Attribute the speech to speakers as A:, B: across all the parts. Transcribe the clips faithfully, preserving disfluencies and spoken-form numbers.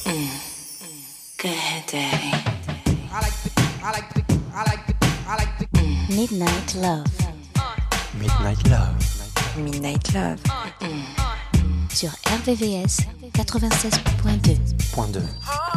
A: Go ahead, Daddy.
B: I like the, I like the, I like the, I like the.
A: Mm. Midnight Love.
C: Midnight Love.
A: Midnight Love. Mm. Sur R V V S quatre-vingt-seize point deux.
C: Point deux.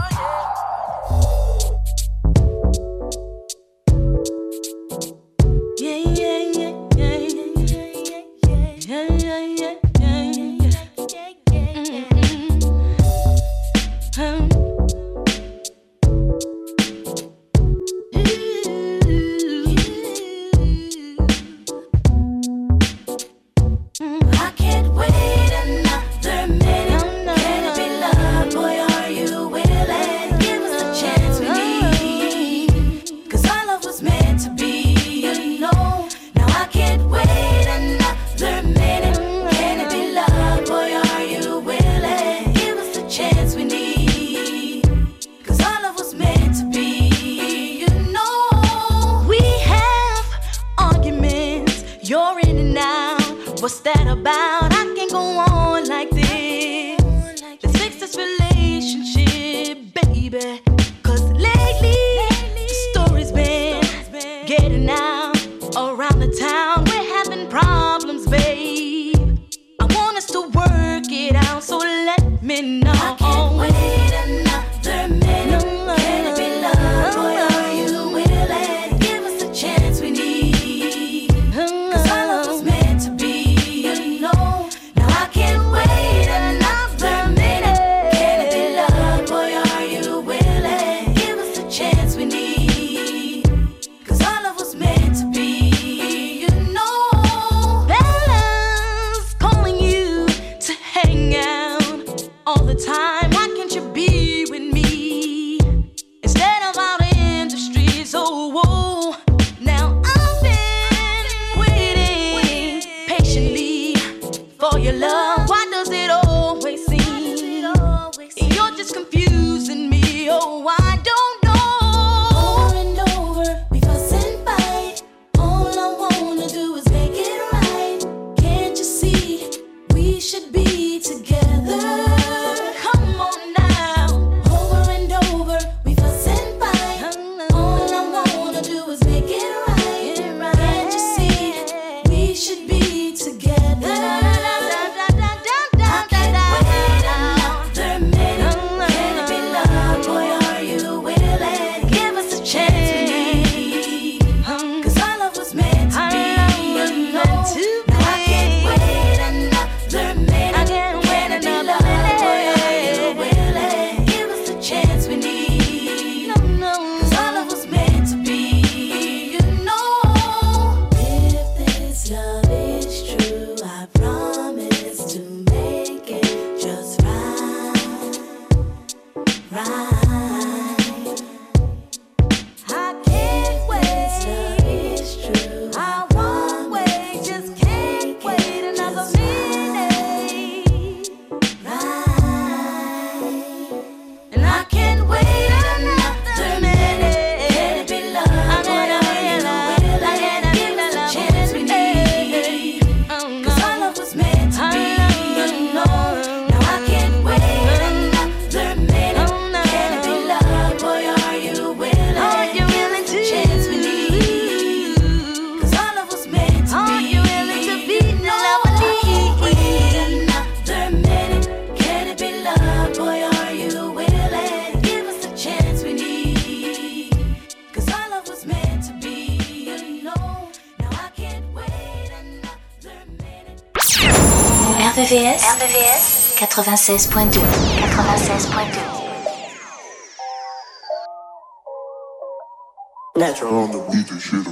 D: What's that about? I can't go on like this. Let's fix this relationship, baby. Cause lately, the story's been getting out around the town. We're having problems, babe. I want us to work it out, so let me know. I can't wait another minute. No, can it be love? Boy, are you willing? Give us the chance we need. Cause our love was meant to be. Time, why can't you be with me instead of out in the streets? Oh, whoa. Now I've been waiting patiently for your love. Why does it always seem you're just confusing me? Oh, I don't know. Over and over, we fuss and fight. All I wanna do is make it right. Can't you see we should be together? R V V S, R V V S quatre-vingt-seize point deux. quatre-vingt-seize point deux.
E: Natural on the beat and shit.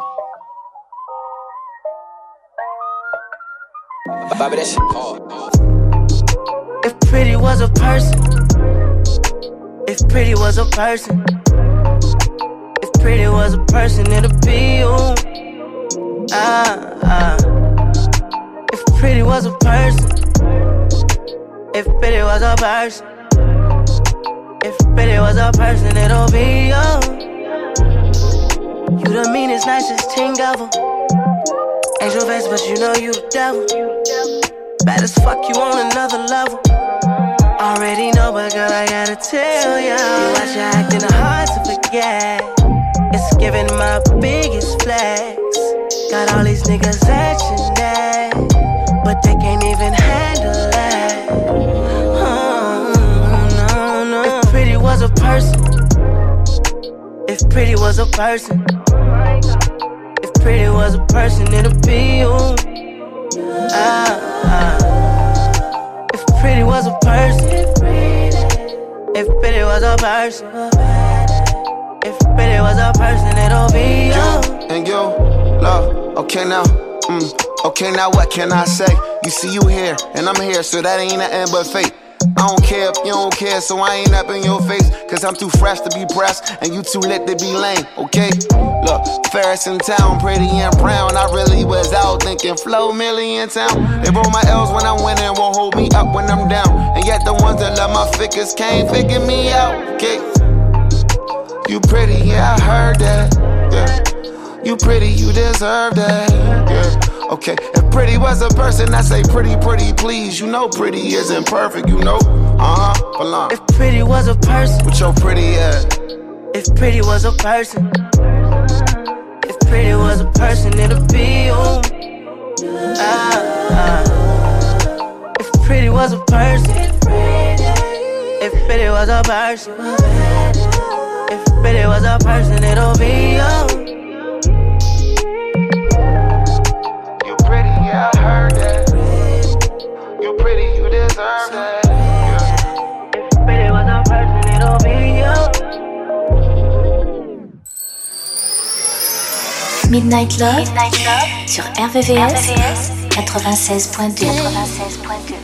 E: Bobby, that shit hard.
F: If pretty was a person, if pretty was a person, if pretty was a person, it'd be you. Ah, ah. If pretty was a person, if pretty was a person, if pretty was a person, it'll be you. You the meanest, nicest thing ever. Angel face, but you know you the devil. Bad as fuck, you on another level. Already know, but girl, I gotta tell ya. Watch you acting hard to forget. It's giving my biggest flex. Got all these niggas action that, but they can't even handle that. Oh, no, no. If pretty was a person, if pretty was a person, if pretty was a person, it'd be you. Ah, ah. If pretty was a person, if pretty was a person, if pretty was a person, it'll be you.
G: And you, love, okay now, mm, okay now what can I say? You see you here, and I'm here, so that ain't nothing but fate. I don't care if you don't care, so I ain't up in your face. Cause I'm too fresh to be pressed, and you too lit to be lame, okay? Look, Ferris in town, pretty and brown. I really was out thinking Flo Millie in town. They roll my L's when I'm winning, won't hold me up when I'm down. And yet the ones that love my figures can't figure me out, okay? You pretty, yeah, I heard that, yeah. You pretty, you deserve that, yeah. Okay, if pretty was a person, I say pretty, pretty, please. You know pretty isn't perfect, you know. Uh-huh, hold on.
F: If pretty was a person,
G: what your pretty at?
F: If pretty was a person, if pretty was a person, it'd be you. Ah, ah. If pretty was a person, if pretty was a person, if pretty was a person, it'll be you.
G: Yeah, I heard that. You pretty, you deserve that. Yeah.
F: If pretty was a person, it'll be
A: you. Midnight Love, Midnight Love sur R V V S quatre-vingt-seize point deux. quatre-vingt-seize point deux.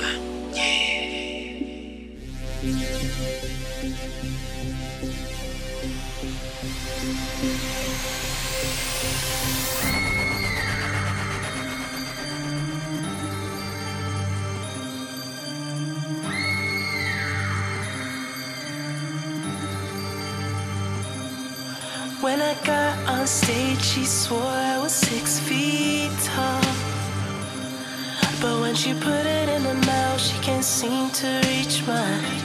H: When I got on stage, she swore I was six feet tall. But when she put it in her mouth, she can't seem to reach mine.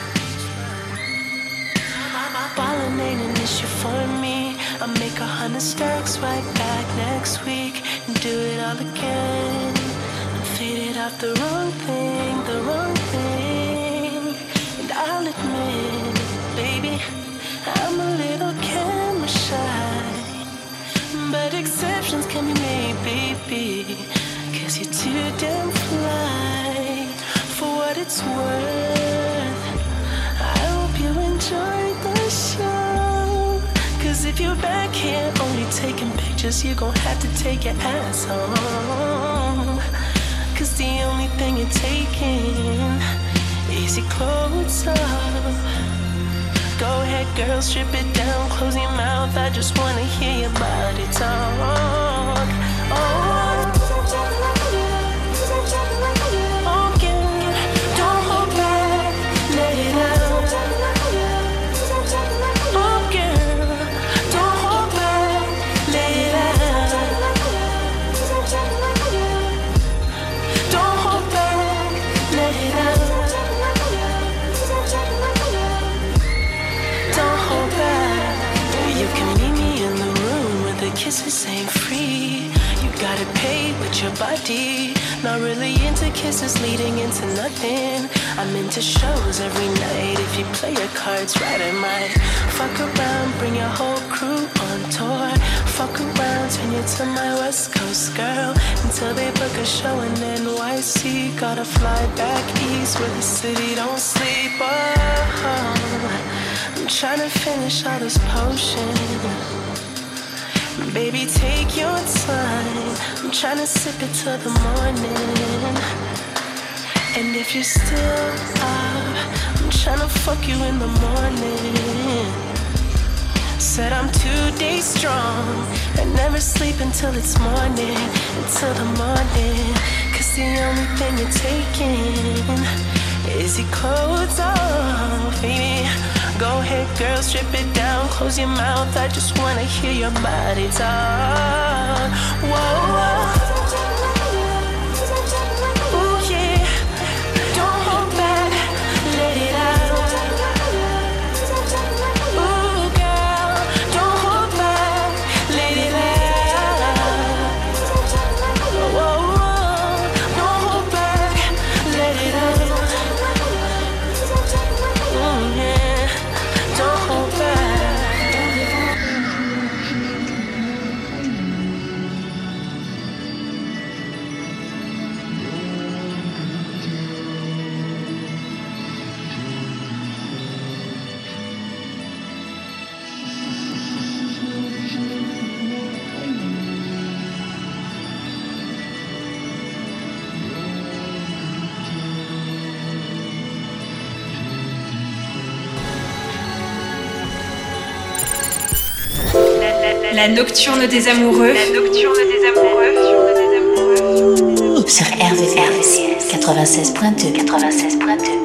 H: Ballin' ain't an issue for me. I'll make a hundred stacks right back next week and do it all again. I'm faded off the wrong thing, the wrong thing. And I'll admit, baby, I'm a little camera shy, but exceptions can be made, baby, cause you're too damn fly. For what it's worth, I hope you enjoyed the show. Cause if you're back here only taking pictures, you're gon' have to take your ass home. Cause the only thing you're taking is your clothes off. Go ahead, girl, strip it down, close your mouth. I just wanna hear your body talk. Oh, oh, girl, don't hold back, let it out. Oh, girl, don't hold back, let it out. Don't hold back, let it out. You can meet me in the room where the kisses ain't free. You gotta pay with your body. Not really into kisses leading into nothing. I'm into shows every night. If you play your cards right, I might fuck around, bring your whole crew on tour. Fuck around, turn you to my West Coast girl until they book a show in N Y C. Gotta fly back east where the city don't sleep. Oh, I'm tryna finish all this potion. Baby, take your time. I'm tryna sip it till the morning. And if you're still up, I'm tryna fuck you in the morning. Said I'm two days strong and never sleep until it's morning. Until the morning. Cause the only thing you're taking is your clothes off, baby. Go ahead, girl, strip it down, close your mouth. I just wanna hear your body talk. Whoa, whoa. Ooh, yeah. Don't hold back,
I: La nocturne des amoureux. La nocturne des amoureux.
A: Sur R V V S quatre-vingt-seize point deux. quatre-vingt-seize point deux.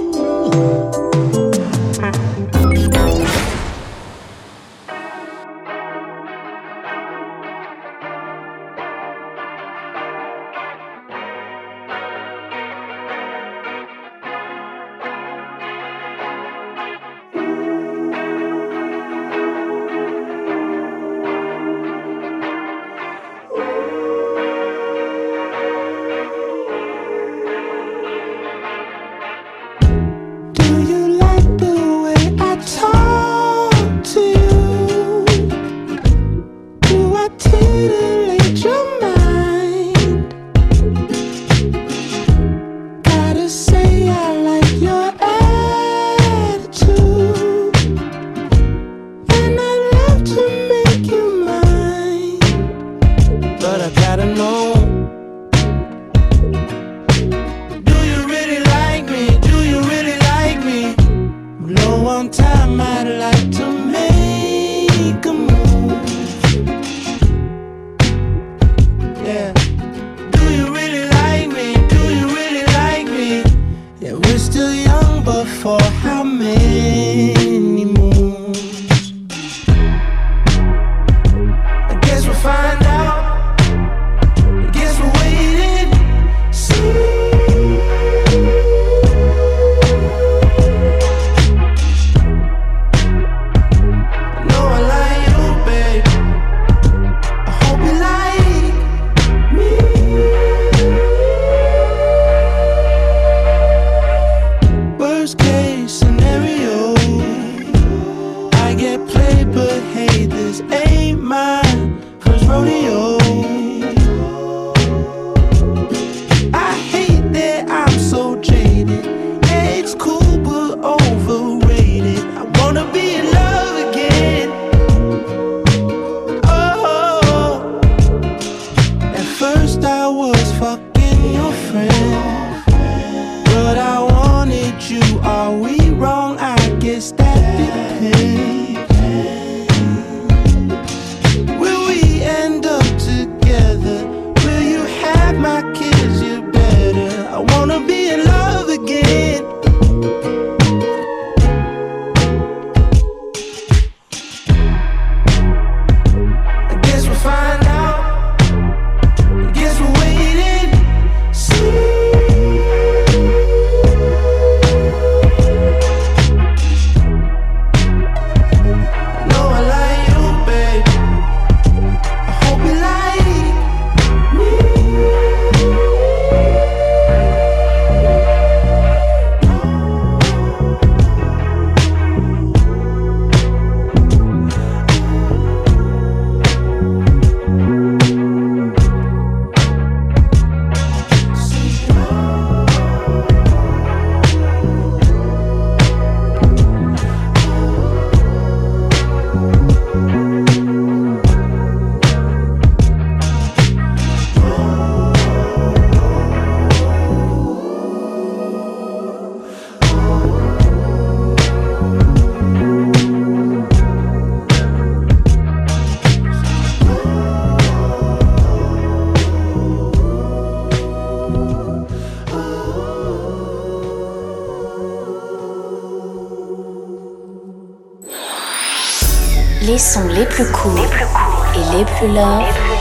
A: Les sons les plus courts les plus cool et les plus love, les plus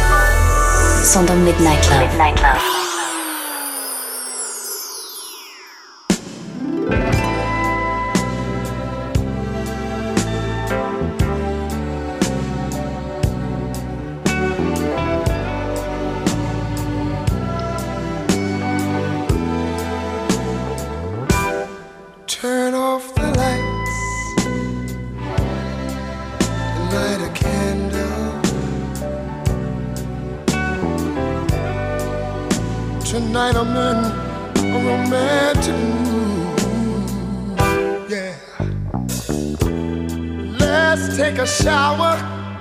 A: love sont dans Midnight Love. Midnight Love.
J: Turn off the lights and light a candle. Tonight I'm in a romantic mood. Yeah. Let's take a shower,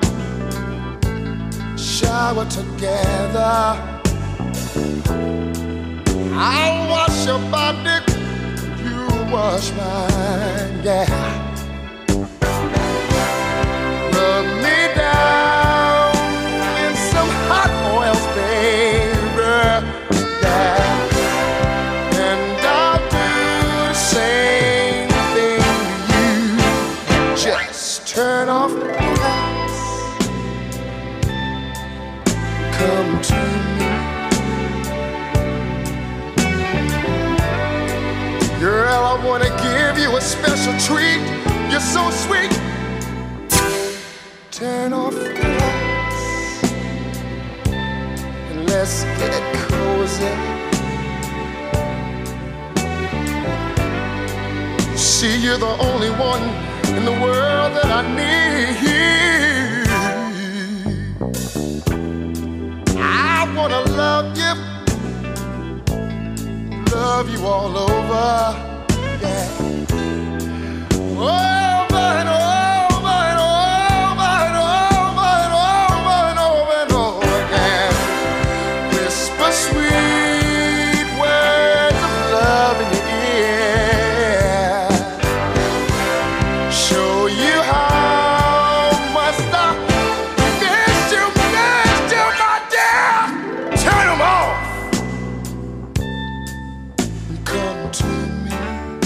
J: shower together. I'll wash your body, wash mine, yeah. Rub me down. I wanna give you a special treat. You're so sweet. Turn off the lights and let's get cozy. See, you're the only one in the world that I need. I wanna love you, love you all over, yeah. Over and over and over and over and over and over and over again. Whisper sweet words of love in your ear. Show you how much I miss you, miss you, my dear. Turn them off. Come to me.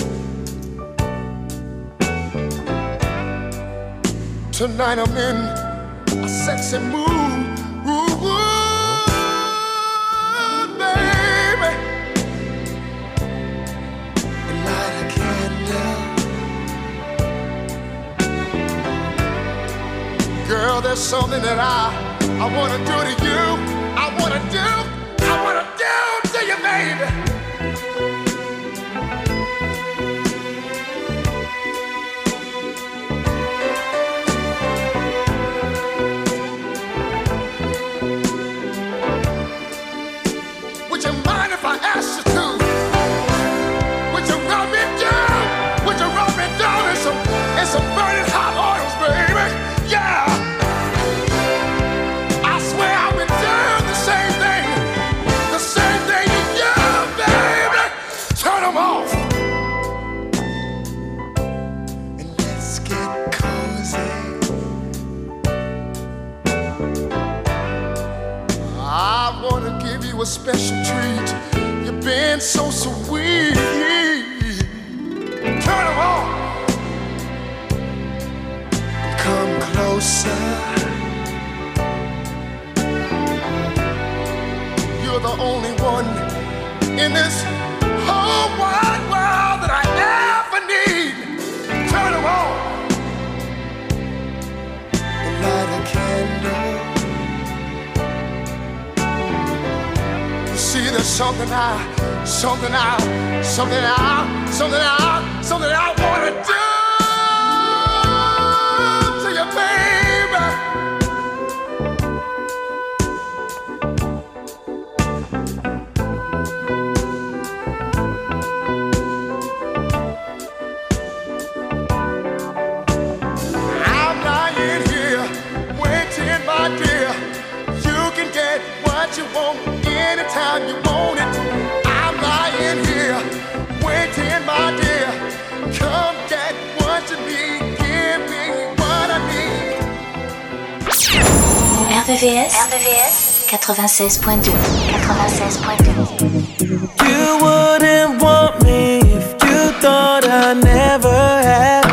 J: Tonight I'm in a sexy mood, ooh, ooh, baby. And light a candle. Girl, there's something that I, I wanna do to you. I wanna do, I wanna do to you, baby. Would you mind if I asked you to? Would you rub me down? Would you rub me down in some, in some burning hot oils, baby? Yeah! I swear I've been doing the same thing, the same thing to you, baby. Turn them off. And let's get cozy. I wanna give you a special treat. You've been so sweet. Turn them on. Come closer. You're the only one in this whole wide world that I ever need. Turn them on. And light a candle. See, there's something I, something I, something I, something I, something I wanna do to you, baby. I'm lying here, waiting, my dear. You can get what you want anytime you want it. I'm lying here, waiting, my dear. Come get what you need, give me what I need.
A: R V V S, R V V S quatre-vingt-seize point deux. quatre-vingt-seize point deux.
F: You wouldn't want me if you thought I never had.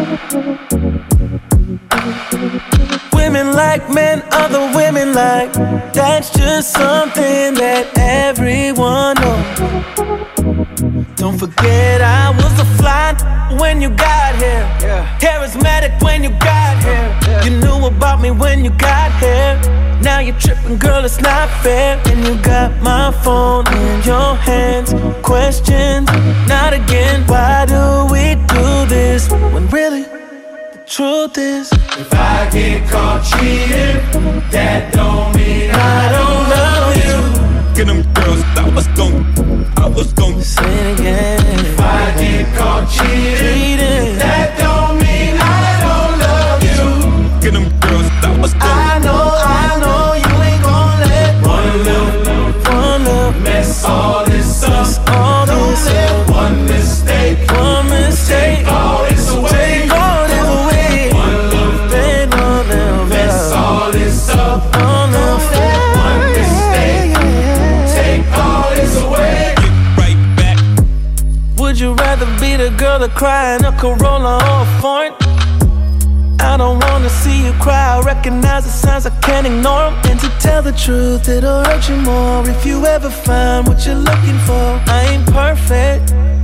F: Women like men, other women like. That's just something that everyone knows. Don't forget I was a fly when you got here, yeah. Charismatic when you got here, yeah. You knew about me when you got here. Now you're tripping, girl, it's not fair. And you got my phone in your hands. Questions, not again. Why do we do this when really the truth is,
K: if I get caught cheating, that don't mean I don't love you. Get them girls, I was gon', I was gon'
F: say it again.
K: If I get caught cheating, that don't mean I don't love you. Get them girls, I was gon',
F: I know, I know you ain't gon' let
K: one little,
F: one little
K: mess all this up.
F: All
K: don't
F: this
K: let
F: up.
K: one mistake,
F: one mistake,
K: take all this away.
F: Take all this away.
K: One little,
F: take all little
K: mess all this up.
F: All
K: don't let one mistake, take all this away. Get right back.
F: Would you rather be the girl that cry in a Corolla or a foreign? I don't wanna see you cry. I recognize the signs, I can't ignore them. And to tell the truth, it'll hurt you more if you ever find what you're looking for. I ain't perfect,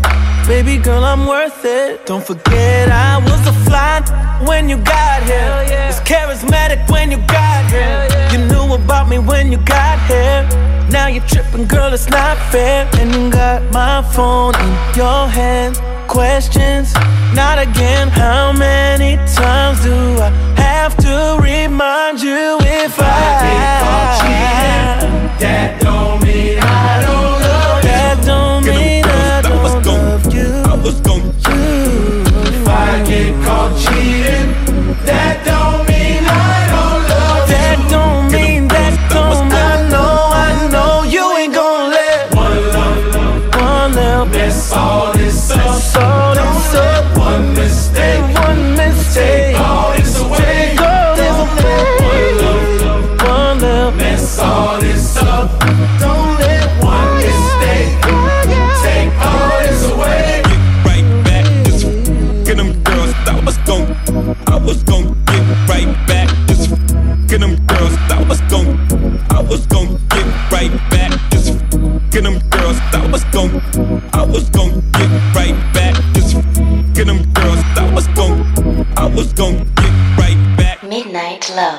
F: Baby girl, I'm worth it. Don't forget I was a fly when you got here. Yeah. Was charismatic when you got here. Yeah. You knew about me when you got here. Now you're tripping, girl, it's not fair. And you got my phone in your hand. Questions, not again. How many times do I have to remind you if, if I, I get caught cheating? That don't mean I don't love you. That don't mean I don't love you. I was gon' you. If I get caught cheating, that don't mean I don't love you. That don't mean that don't mean I know, I know you ain't gon' let one love, one love mess all this up. All this up. One mistake, one mistake. Take all this away. Take all this away. One love, one love mess all this up. Don't let one mistake take all this away.
K: Get right back, just get them girls. I was gon', I was gon' get right back, just get them girls. I was gon', I was gon' get right back, just get them girls. I was gon', I was gon' get right back, just get them girls. I was gon', I was gon' get right back.
A: Midnight Love.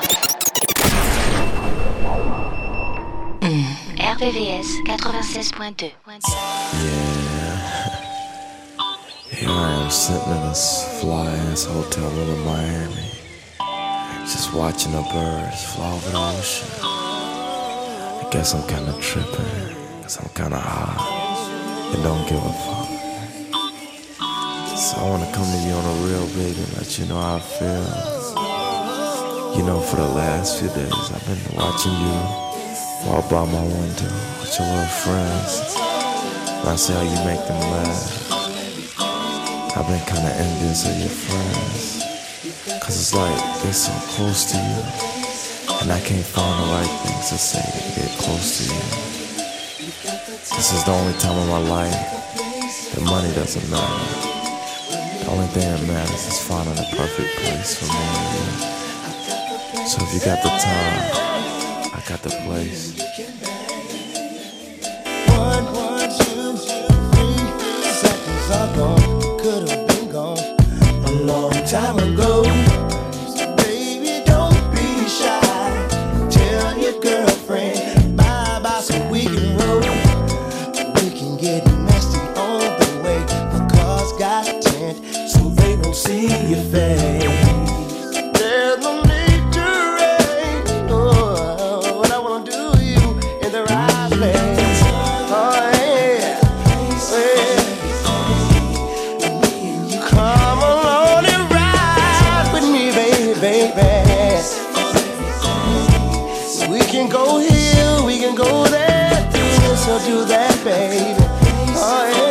A: R V V S ninety-six point two.
L: Yeah. Here I am sitting in this fly-ass hotel room in Miami, just watching the birds fly over the ocean. I guess I'm kinda tripping, cause I'm kinda high and don't give a fuck. So I wanna come to you on a real, baby, and let you know how I feel. You know, for the last few days I've been watching you walk by my window with your little friends, and I see how you make them laugh. I've been kinda envious of your friends, cause it's like they're so close to you, and I can't find the right things to say to get close to you. This is the only time in my life that money doesn't matter. The only thing that matters is finding the perfect place for me and you. So if you got the time, I got the place.
M: One, one, two, three seconds ago, could have been gone a long time ago. So baby, don't be shy. Tell your girlfriend bye bye so we can roll. We can get nasty on the way. The cars got tint so they don't see your face. There's no need to rain. Oh, what I wanna do to you in the right place. Oh yeah, yeah. Come along and ride with me, baby, baby. We can go here, we can go there, do this or do that, baby. Oh yeah.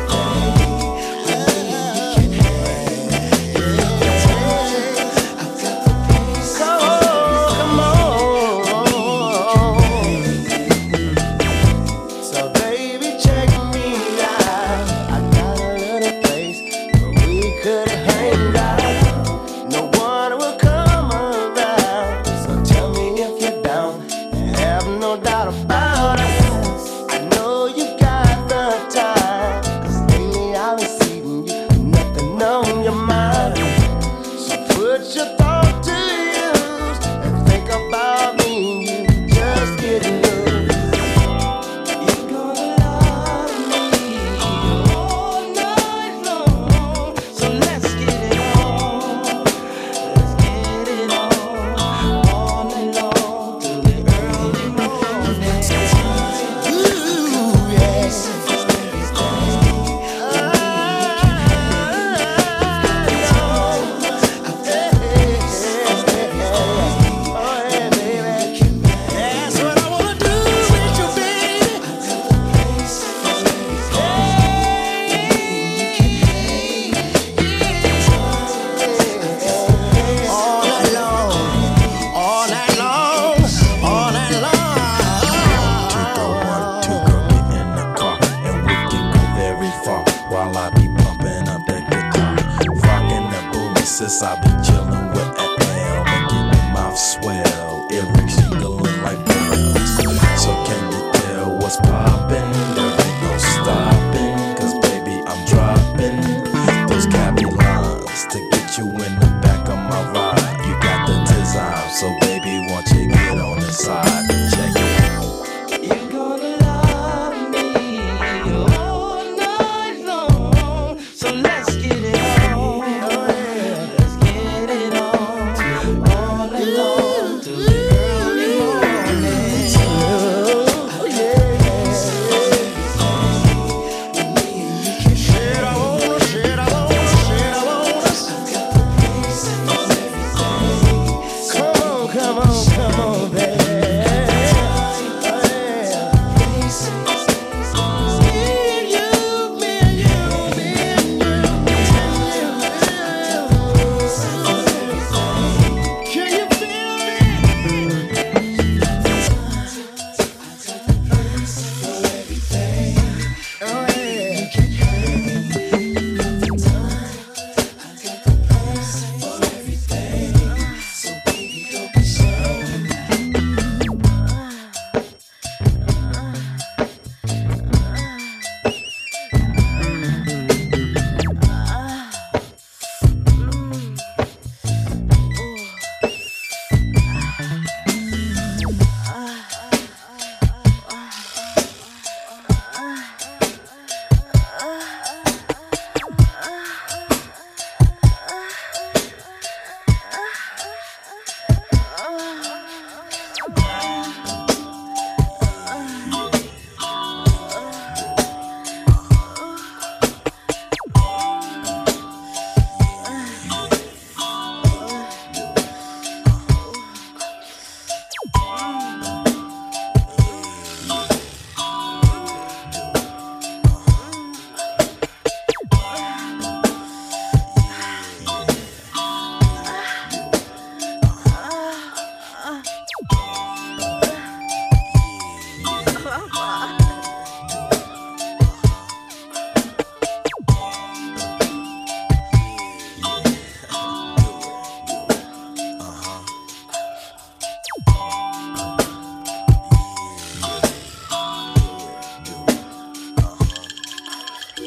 L: Sis, I be chillin' with L, making your mouth swell, earrings jingling like bells. So can you tell what's poppin'? There ain't no stopping, cause baby I'm dropping.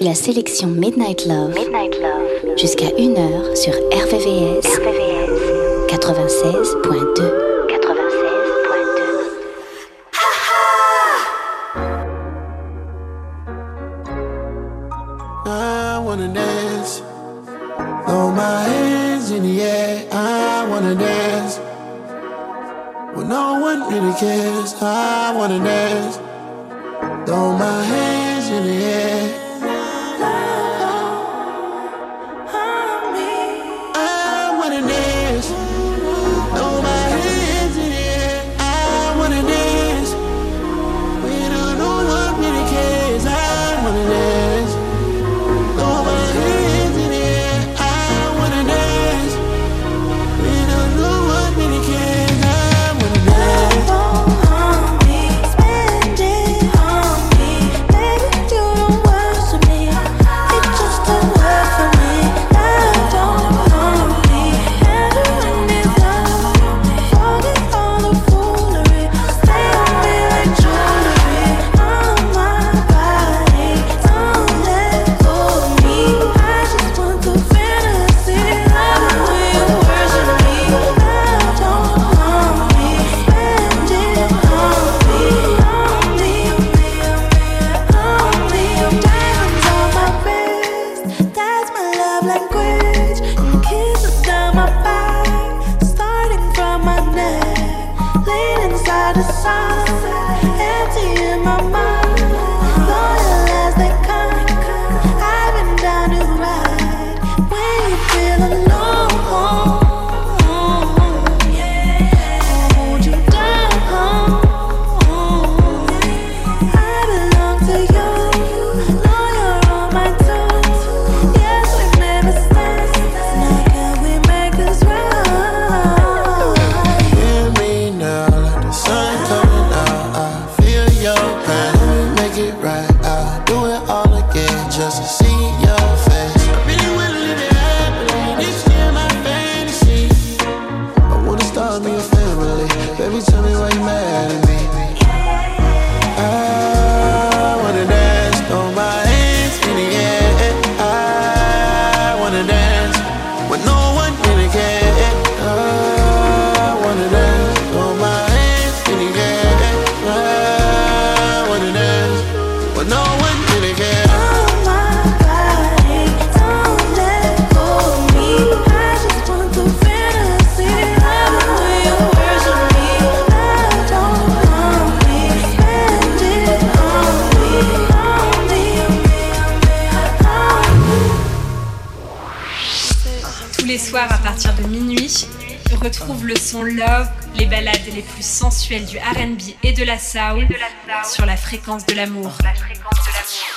A: la sélection Midnight Love, Midnight Love. Jusqu'à une heure sur R V V S, R V V S quatre-vingt-seize point deux.
M: I wanna dance, throw my hands in the air. I wanna dance, when no one really cares. I wanna dance, throw my hands in the air. I wanna dance, throw my hands in the air. I wanna dance, when no one really cares. I wanna dance.
I: Retrouve le son Love, les ballades les plus sensuelles du R and B et de la soul, de la soul sur la fréquence de l'amour. La fréquence de l'amour.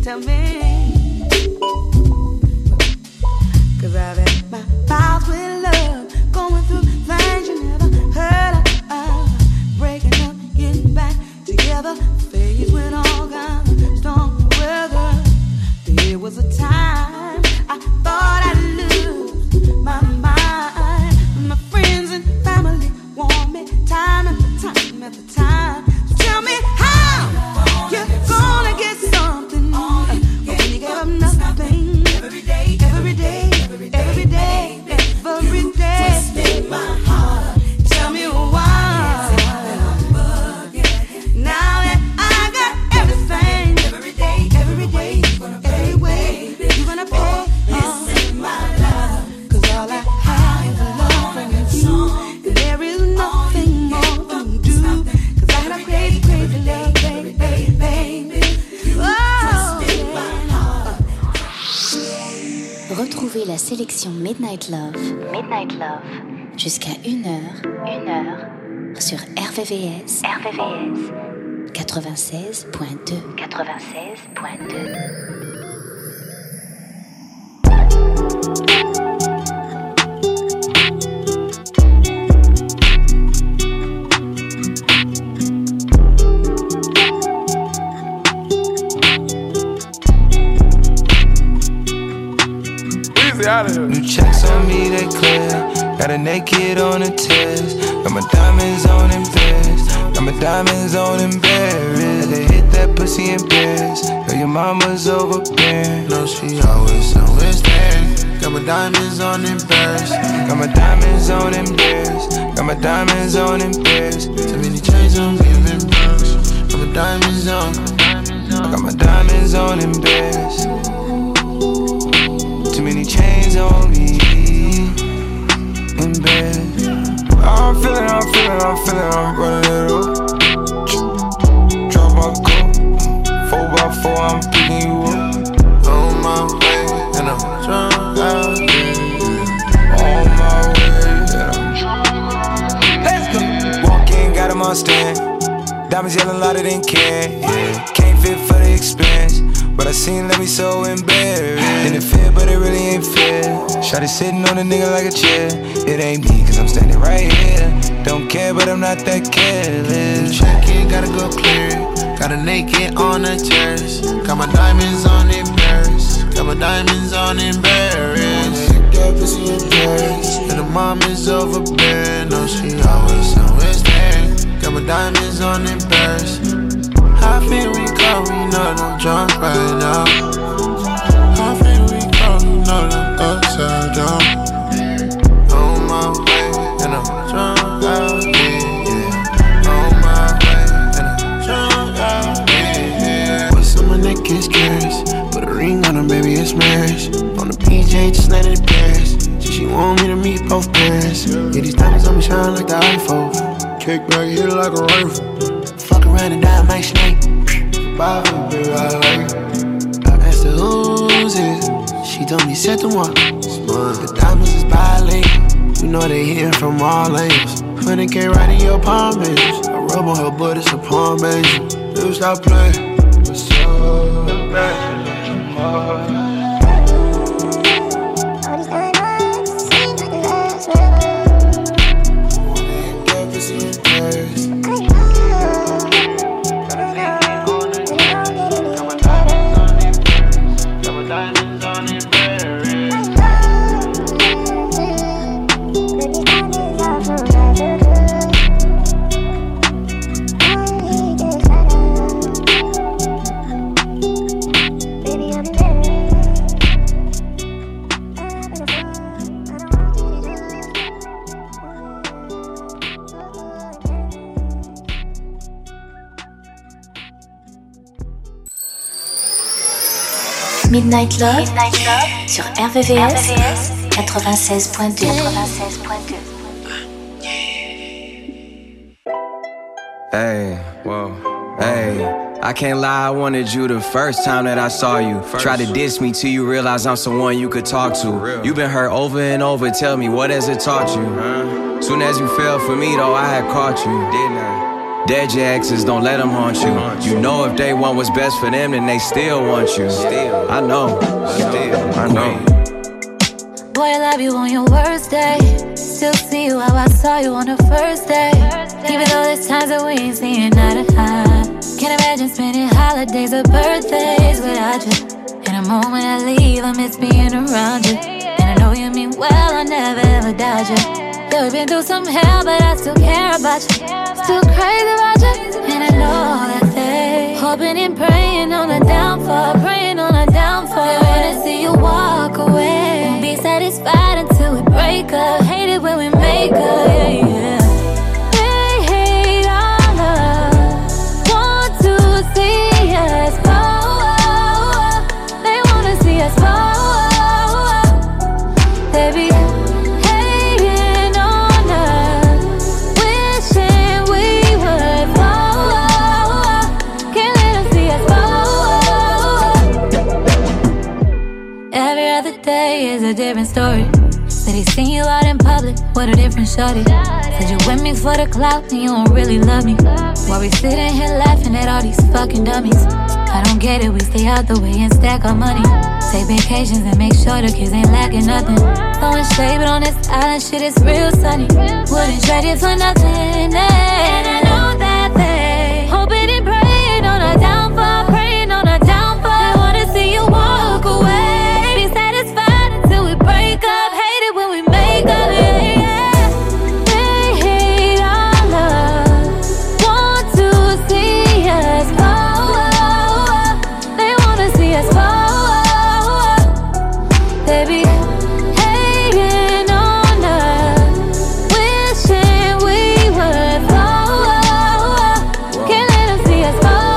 D: tell me. Cause I've had my files with love, going through things you never heard of, uh, breaking up, getting back together, faced with all kinds of storm weather. There was a time I thought I'd lose my mind. My friends and family want me time after time after time. So tell me how you're gonna get something when you give up nothing. Every day, every day, every day, every day, every day. Twisting my heart. Tell me why. Now that I got everything, every day, every day, every way, you're gonna pay. This is my love. Cause all I have is love from you. And there is nothing more to do. Cause I had a crazy, crazy love, baby, baby, baby. Oh, yeah.
A: Retrouvez la sélection Midnight Love, Midnight Love, jusqu'à une heure, une heure, sur R V V S, R V V S, quatre-vingt-seize point deux, quatre-vingt-seize point deux.
L: New checks on me, they clear. Got a naked on the test. Got my diamonds on in pairs. Got my diamonds on in Paris. They hit that pussy in Paris. Girl, your mama's overbearing.
G: No, she always, always there. Got my diamonds on in Paris.
L: Got my diamonds on in Paris. Got my diamonds on in Paris.
G: Too many chains on me, I'm in Paris. Got my diamonds on.
L: I got my diamonds on in Paris. Too many chains on me in bed. I'm feeling, I'm feeling, I'm feeling, I'm running it up. Drop my cup, four by four, I'm picking you up.
G: On my way, and I'm drunk out here.
L: On my way, and I'm drunk. Let's go. Walk in, got him on stand. Diamonds yelling louder than can. Yeah. Can't fit for the expense. But I seen let me so embarrassed. And it fit, but it really ain't fair. Shawty sitting on a nigga like a chair. It ain't me, cause I'm standing right here. Don't care, but I'm not that careless.
G: Check it, gotta go clear. Got a naked on the terrace. Got my diamonds on in Paris. Got my diamonds on in Paris. That pussy in Paris. And the mom is overbearing. No, she always, always there. Got my diamonds on in Paris. How feel we go, we know that I'm drunk right now. How feel we go, we know that I'm upside down. On my way, and I'm drunk out here, yeah. On my way, and I'm drunk out here, yeah. What's on my neck is curious. Put a ring on her, baby, it's marriage. On the P J, just landed in Paris. She, she want me to meet both parents. Yeah, these diamonds on me shine like the iPhone. Kick back, hit it like a rifle. Fuck around and die, my snake. Bye, baby, I like it. I asked her who's it. She told me set the one. The diamonds is bilingual. You know they hitting from all angles. Honey K right in your palm, baby. I rub on her butt, it's a palm, baby. You stop playing. What's up? The best in your heart.
A: Midnight Love, Midnight Love sur R V V S quatre-vingt-seize point deux. quatre-vingt-seize point deux.
N: Hey, whoa, hey. I can't lie, I wanted you the first time that I saw you. First. Try to diss me till you realize I'm someone you could talk to. You been hurt over and over, tell me, what has it taught you? Huh? Soon as you fell for me though, I had caught you, didn't I? Dead your exes, don't let them haunt you. You know if they want what's best for them, then they still want you. Still, I know, still, I know.
O: Boy, I love you on your worst day. Still see you how I saw you on the first day. Even though there's times that we ain't seeing eye to eye. Can't imagine spending holidays or birthdays without you. And the moment I leave, I miss being around you. And I know you mean well, I'll never ever doubt you. Yeah, we've been through some hell, but I still care about you. Still crazy about you. And I know that they hoping and praying on a downfall, praying on a downfall. They're ready to see you walk away. Won't be satisfied until we break up. Hate it when we make up, yeah, yeah. They hate our love, want to see us fall. They wanna see us fall. They be hating on us, wishing we would fall. Can't let them see us fall. Every other day is a different story. Said he seen you out in public with a different shorty. Said you with me for the clout and you don't really love me. While we sitting here laughing at all these fucking dummies. I don't get it, we stay out the way and stack our money. Take vacations and make sure the kids ain't lacking nothing. Throwing shade, but on this island shit is real sunny. Wouldn't trade it for nothing, eh. And I know that they hoping and praying on a downfall, praying on a downfall. They wanna see you walk away. Be satisfied until we break up. Hate it when we make up, yeah, yeah. They hate our love, want to see us fall. They wanna see us fall. They be hating on us, wishing we would fall. Can't let them see us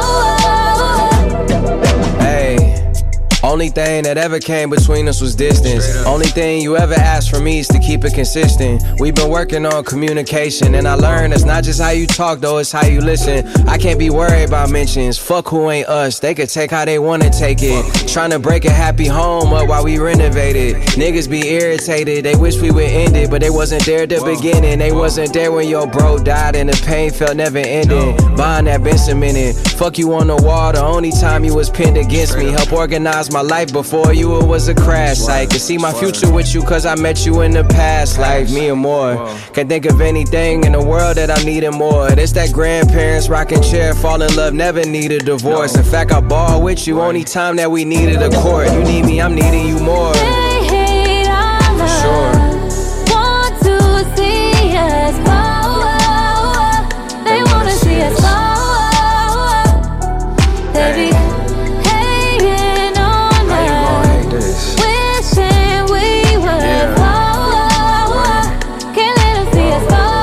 O: fall.
N: Hey, only thing that ever came between us was distance. Only thing you ever asked from me is to keep it consistent. We've been working on communication, and I learned it's not just how you talk though, it's how you listen. I can't be worried about mentions. Fuck who ain't us, they could take how they wanna take it. Tryna break a happy home up while we renovate it. Niggas be irritated, they wish we would end it, but they wasn't there at the beginning. They wasn't there when your bro died and the pain felt never ending. Bond that been cemented. Fuck you on the wall, the only time you was pinned against me. Help organize my life before you, it was a crash site. Could see my future with you cause I met you in the past life, me and more. Can't think of anything in the world that I needed more. It's that grandparents rocking chair, fall in love, never need a divorce. In fact, I ball with you only time that we needed a court. You need me, I'm needing you more.
O: They hate our love,
N: sure.
O: Want to see us fall. They wanna see us fall. They be hating on us, wishing we would fall. Can't let them see us fall.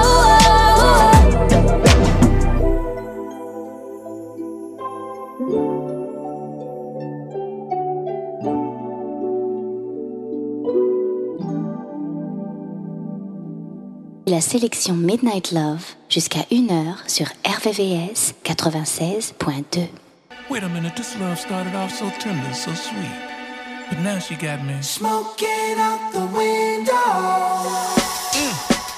A: La sélection Midnight Love jusqu'à une heure sur R V V S quatre-vingt-seize point deux.
P: Wait a minute, this love started off so tender, so sweet. But now she got me
M: Smoking out the window.
P: Mm.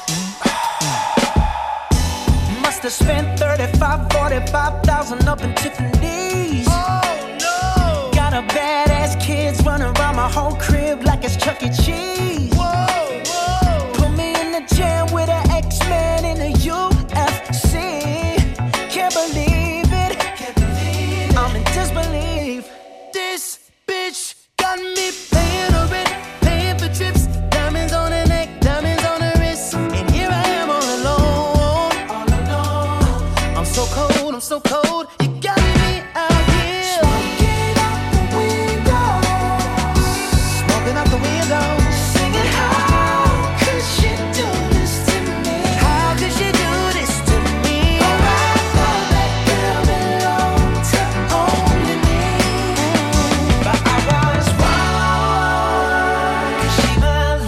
F: Must have spent thirty-five, forty-five thousand up in Tiffany's.
P: Oh no!
F: Got a badass kids running around my whole crib like it's Chuck E. Cheese.
P: Whoa, whoa!
F: Put me in the jam with an X-Men in the U F C. Can't believe it.
M: Can't believe it.
F: I'm in disbelief.
M: This bitch got me paying her rent, paying for trips, diamonds on her neck, diamonds on her wrist, and here I am all alone, all alone.
F: I'm so cold, I'm so cold. You got me out here.
M: Smoking out the window,
F: Smoking out the window.
M: singing how could she do this to me?
F: How could she do this to me?
M: Oh, I thought that girl belonged to only me,
F: But I was wrong. 'Cause she belonged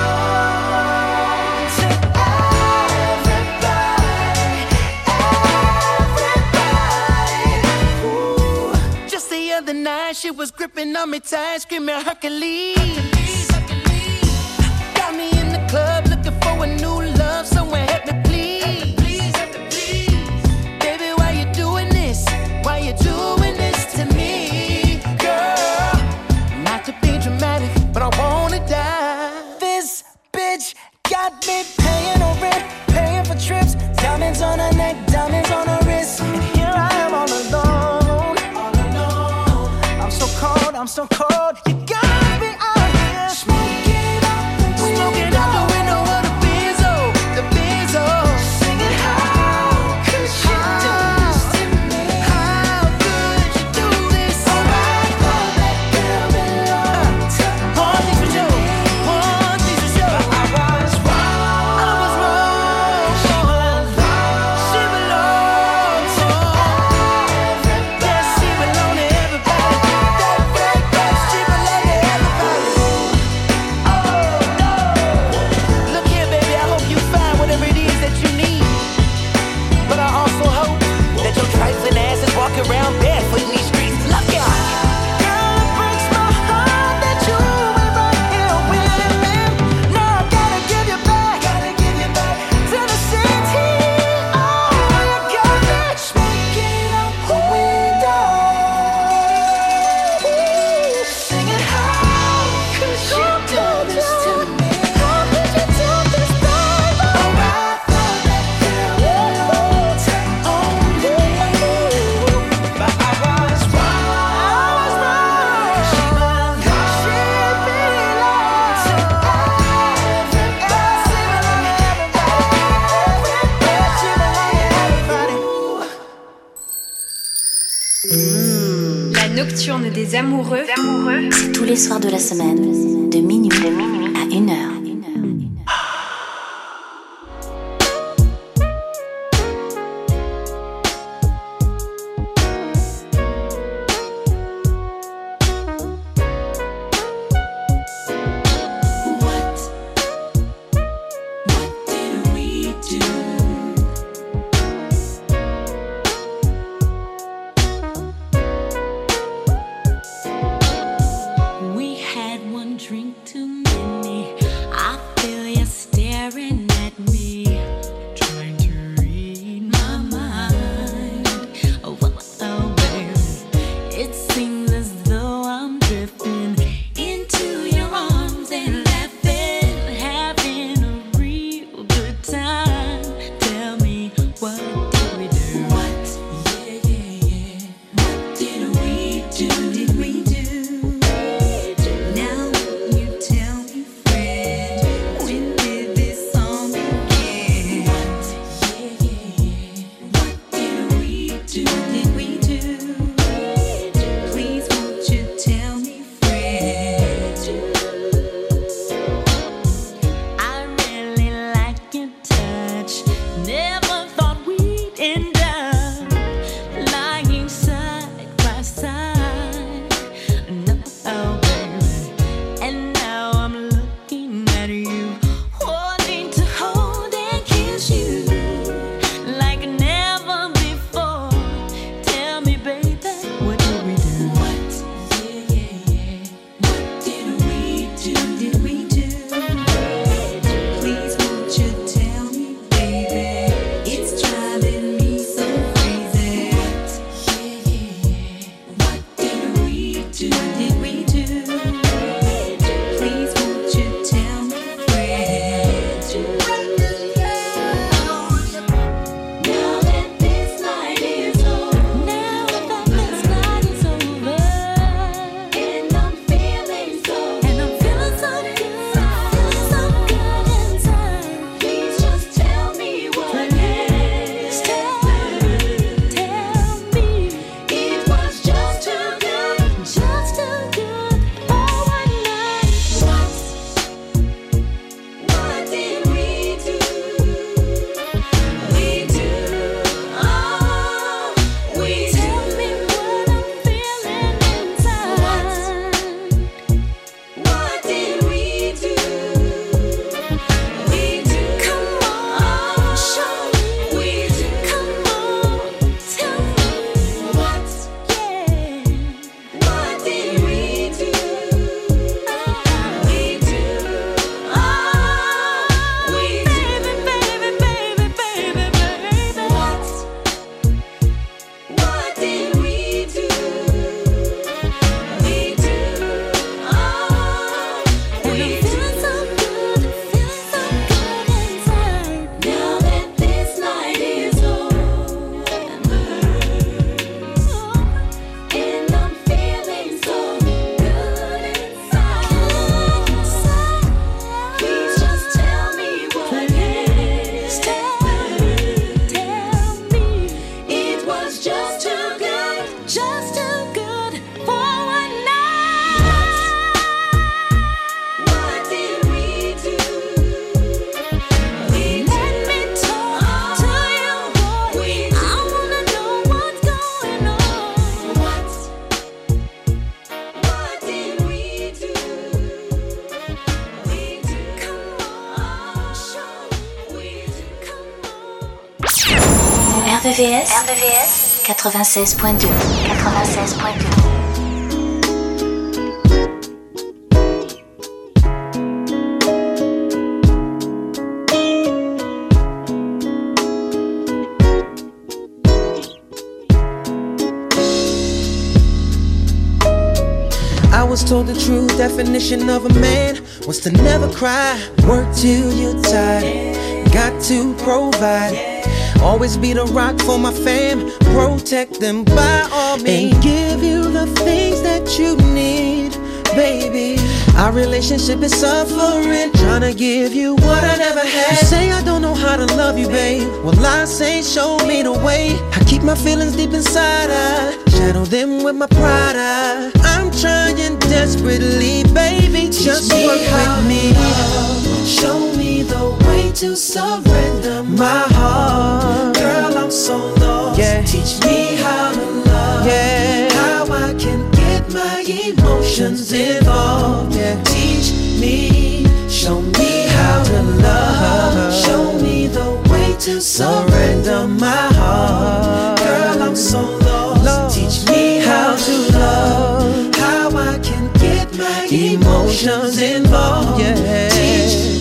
F: to
M: everybody, everybody. Ooh.
F: Just the other night, she was gripping on me tight, screaming Hercules. Got me in the club looking for a new love, someone help me please. cold, I'm so cold. You got me out here smoking out the window, smoking out the window of the Benzo, the Benzo. Singing, how could you do this to me? How could you do this? Alright, oh, that girl belongs to me. One thing for sure, one thing for sure. I was wrong, I was wrong. She belongs, she belongs to everybody. Yes, she belongs to everybody. That red dress, she belongs to everybody. Oh no! Look here, baby, I hope you find whatever it is that you need. But I also hope that your trifling ass is walking around barefoot in these streets. Look out! Girl, it breaks my heart that you ain't right here with me. Now I gotta give you back, gotta give you back to the city. Oh, you got me smoking out the window, singing, how could you do this to me? How could you do this, baby? Alright, thought that girl belonged to only me. But I was wrong, I was wrong. She belongs, she belongs to everybody. She belongs to everybody.
I: La nocturne des amoureux.
A: C'est tous les soirs de la semaine, de minuit, de minuit à une heure.
D: We had one drink too many. I feel you staring at me, trying to read my mind. Oh, well, oh, baby, it seems as though I'm drifting into your arms and laughing, having a real good time. Tell me, what did we do? What? Yeah, yeah, yeah. What did we do? Did we do? Now you tell me, friend, when did this song begin? Yeah, yeah, yeah. What did we do? Did we do? Please won't you tell me, friend?
A: V V S, R V V S quatre-vingt-seize point deux. quatre-vingt-seize point deux.
F: I was told the true definition of a man was to never cry, work till you're tired, got to provide, always be the rock for my fam, protect them by all means, and give you the things that you need, baby. Our relationship is suffering, trying to give you what I never had. You say I don't know how to love you, babe. Well, I say show me the way. I keep my feelings deep inside, I shadow them with my pride. I, I'm trying desperately, baby, just work with me. Show me the way to surrender my heart. Girl, I'm so lost. Yeah. Teach me how to love. Yeah. How I can get my emotions involved. Yeah. Teach me, show me how to love. Show me the way to surrender my heart. Girl, I'm so lost. lost. Teach me how to love. How I can get my emotions involved. Yeah. Teach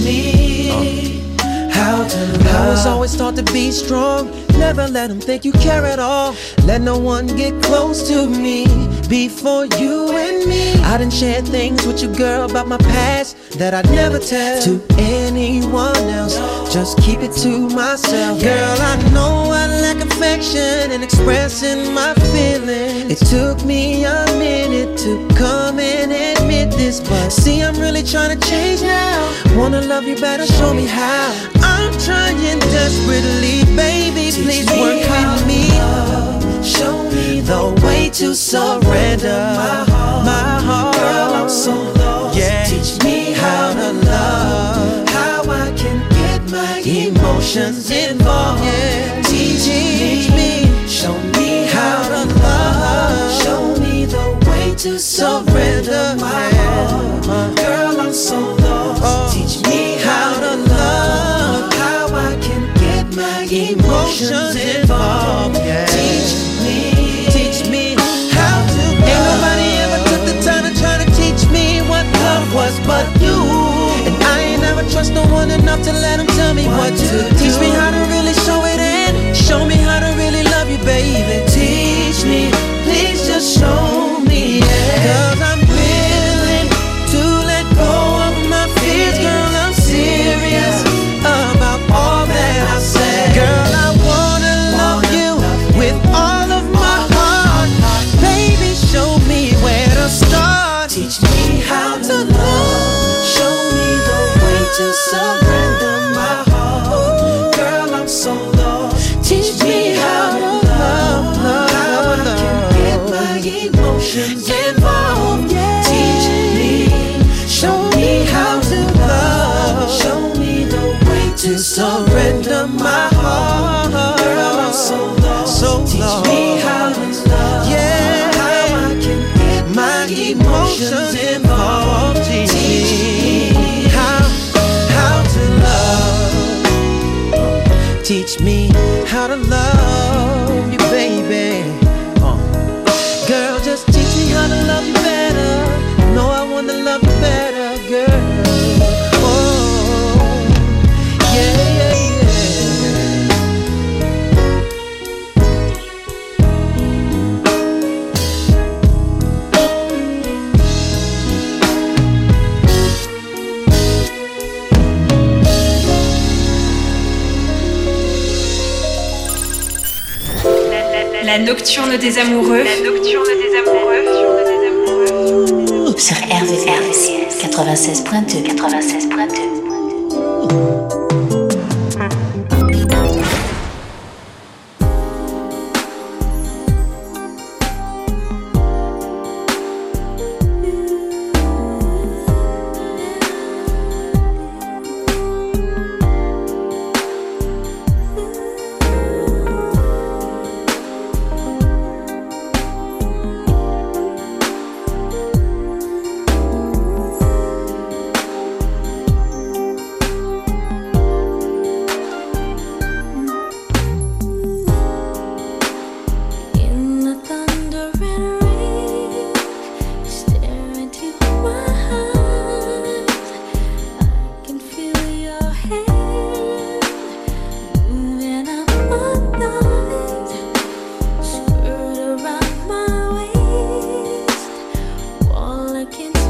F: me how to love. I was always taught to be strong. Never let them think you care at all. Let no one get close to me before you and me. I done shared things with you, girl, about my past that I'd never tell to anyone else. Just keep it to myself. Girl, I know I lack affection and expressing my feelings. It took me a minute to come and admit this, but see, I'm really trying to change now. Wanna love you better, show me how. I'm trying desperately, baby, please work with me. Show me the way to surrender my heart. My heart. Girl, I'm so lost. Yeah. Teach me how to love. How I can get my emotions involved. Yeah. Teach, Teach me. Show me how to love. Show me the way to surrender my heart. Girl, I'm so lost. Oh. Teach me how to love. How I can get my emotions involved. Yeah. Teach me, teach me how to love. Ain't nobody ever took the time to try to teach me what love was but you. And I ain't never trust no one enough to let them tell me what, what to do. Teach me how to really show it in. Show me how to really love you, baby. Teach me, please just show me, yeah. Cause I'm willing to let go of my fears. Girl, I'm serious about all that I said. Girl, I wanna love you with all of my heart. Baby, show me where to start. Teach me how to love. Show me the way to surrender my heart. Girl, I'm so lost. Teach me how to love, love, how I can get my emotions involved. Teach me, show me how to love. Show me the way to surrender my heart. Girl, I'm so lost. So Teach lost. me how to love. Yeah. How I can get my emotions involved. Teach me how, how to love. Teach me how to love you, baby. Uh. Girl, just teach me how to love you better. No, I wanna love you better, girl. Oh, yeah, yeah, yeah.
I: La nocturne des amoureux. La nocturne des amoureux.
A: Sur R V V S quatre-vingt-seize point deux. quatre-vingt-seize point deux.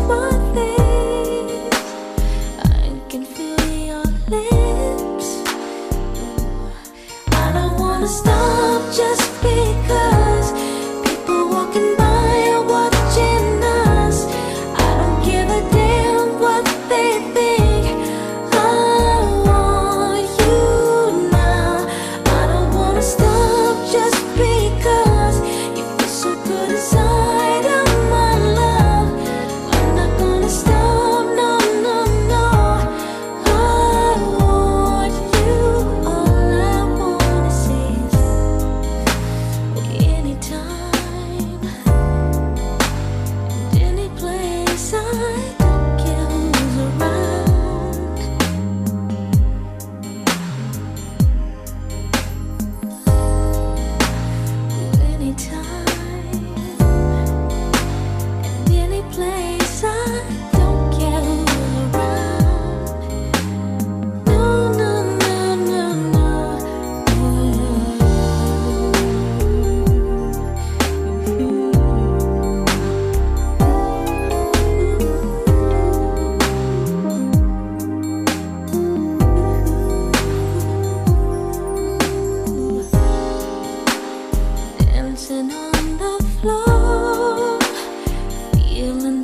O: Dancing on the floor, feeling